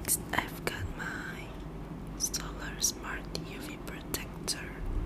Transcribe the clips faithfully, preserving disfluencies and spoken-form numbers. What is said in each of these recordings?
Next, I've got my Solar Smart U V Protector.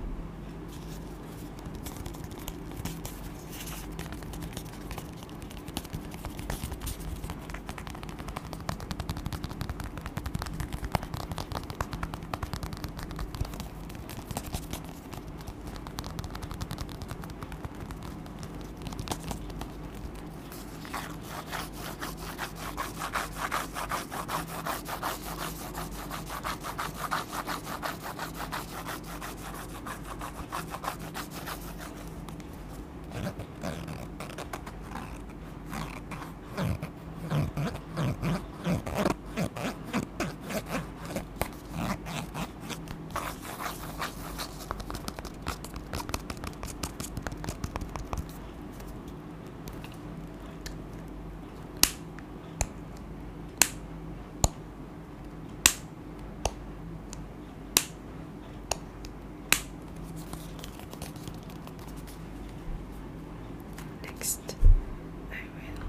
Next, I will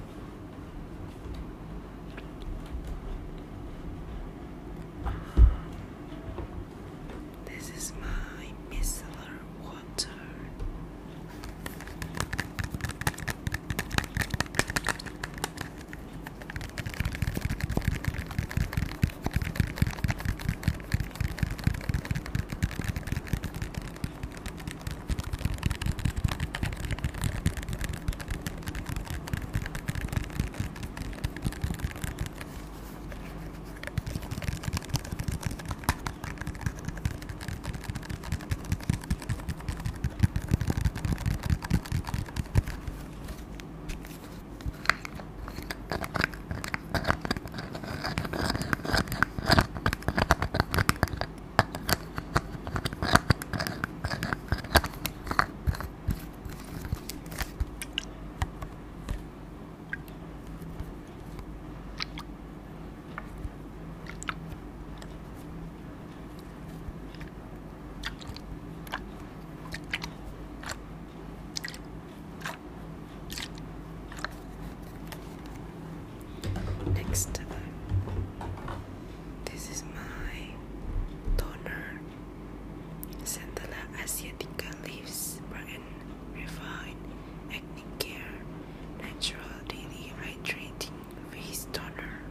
this is my micellar water. Next, this is my toner, Centella Asiatica Leaves Brighten Refine Acne Care Natural Daily Hydrating Face Toner.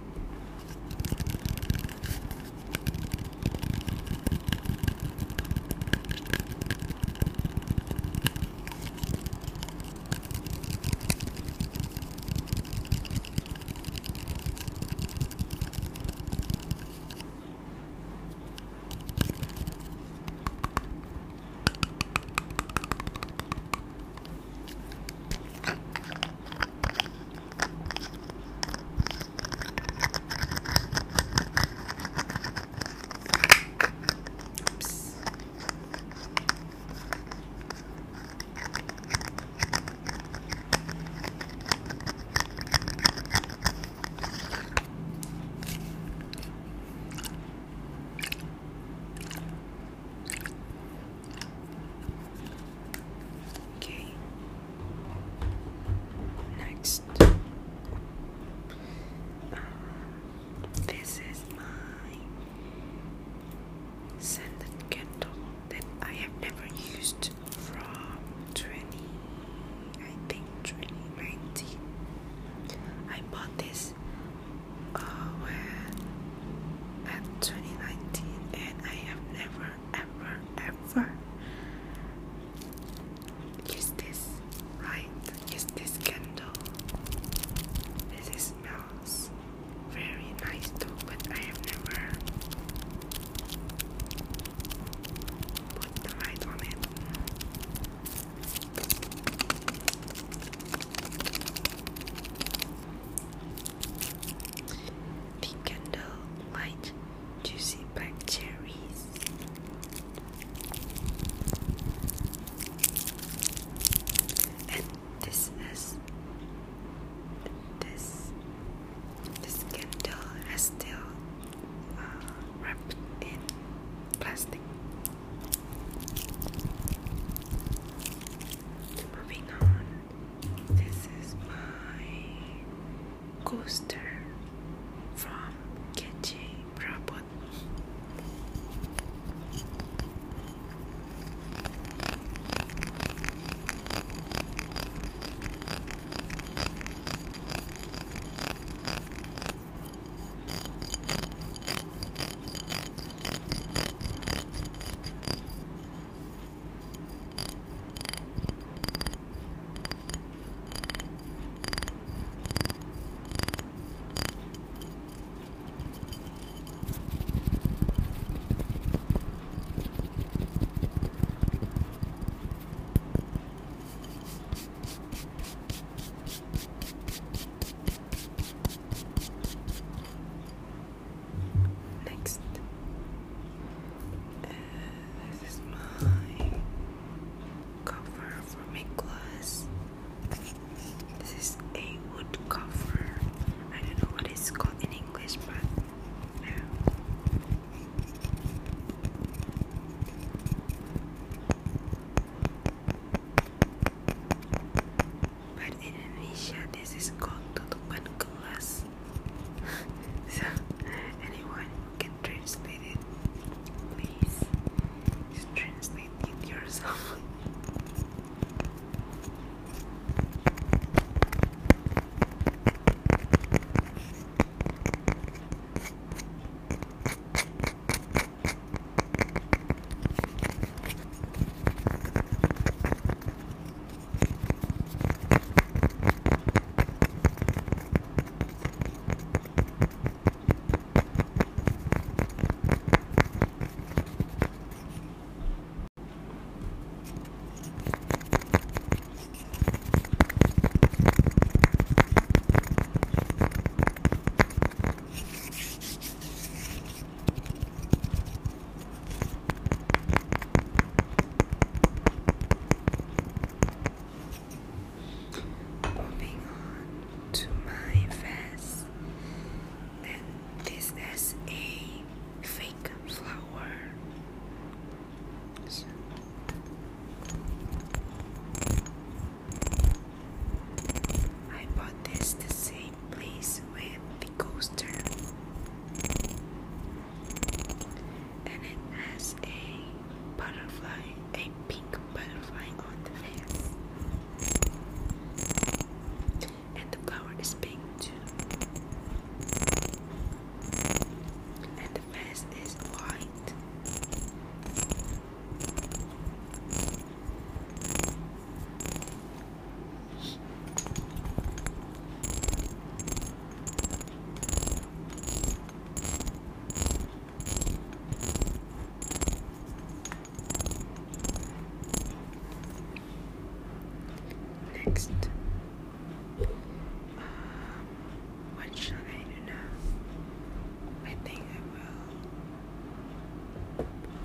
Next, this is my scented candle that I have never used from twenty, I think twenty nineteen. I bought this uh, when at twenty nineteen, and I have never, ever, ever used this. Right, use this candle. This smells very nice too, but I have never put the light on it. The candle light juicy black cherries. And this is this this candle has still uh, wrapped in plastic. Moving on, this is my coaster from is called tutupan gelas. So anyone who can translate it, please just translate it yourself. Moving on to my vase, and this is a fake flower. So I bought this the same place with the coaster, and it has a butterfly, a pink butterfly on the vase. And the flower is pink too. And the vase is white. Next. What shall I do now? I think I will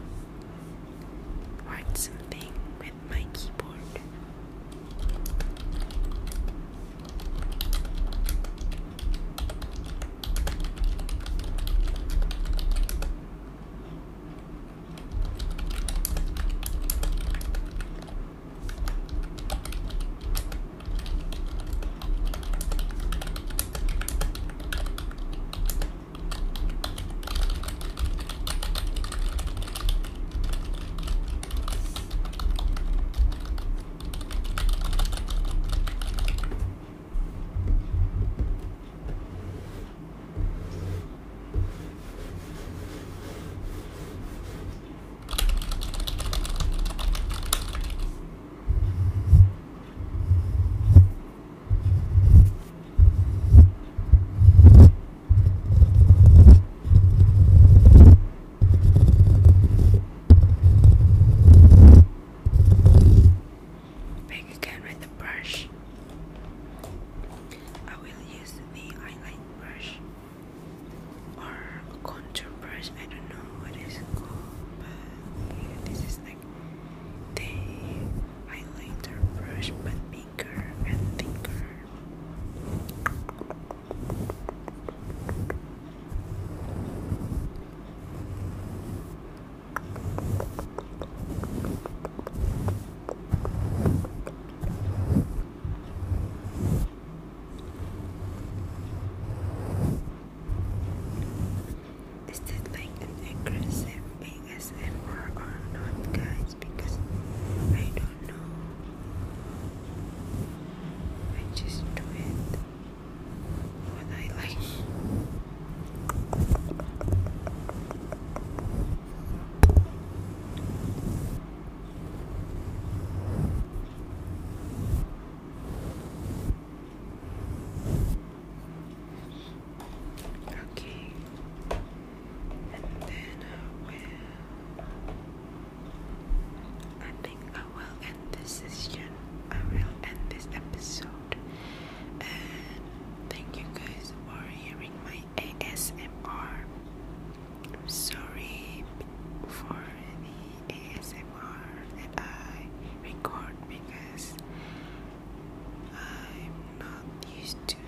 write something with my keyboard. Back again with the brush. I will use the highlight brush or a contour brush. I don't know what it's called, but yeah, this is like the highlighter brush, but bigger and thicker. Is this like an aggressive A S M R or not, guys? Because I don't know. I just do it what I like. Okay. And then I will, I think I will end this session. I will end this episode. And thank you guys for hearing my A S M R. I'm sorry for the A S M R that I record because I'm not used to